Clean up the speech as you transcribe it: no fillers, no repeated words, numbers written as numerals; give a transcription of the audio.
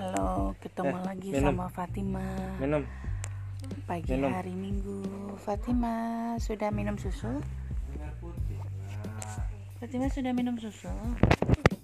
Halo, ketemu lagi minum. sama Fatima. Minum. Pagi hari Minggu. Fatima sudah minum susu? Fatima sudah minum susu?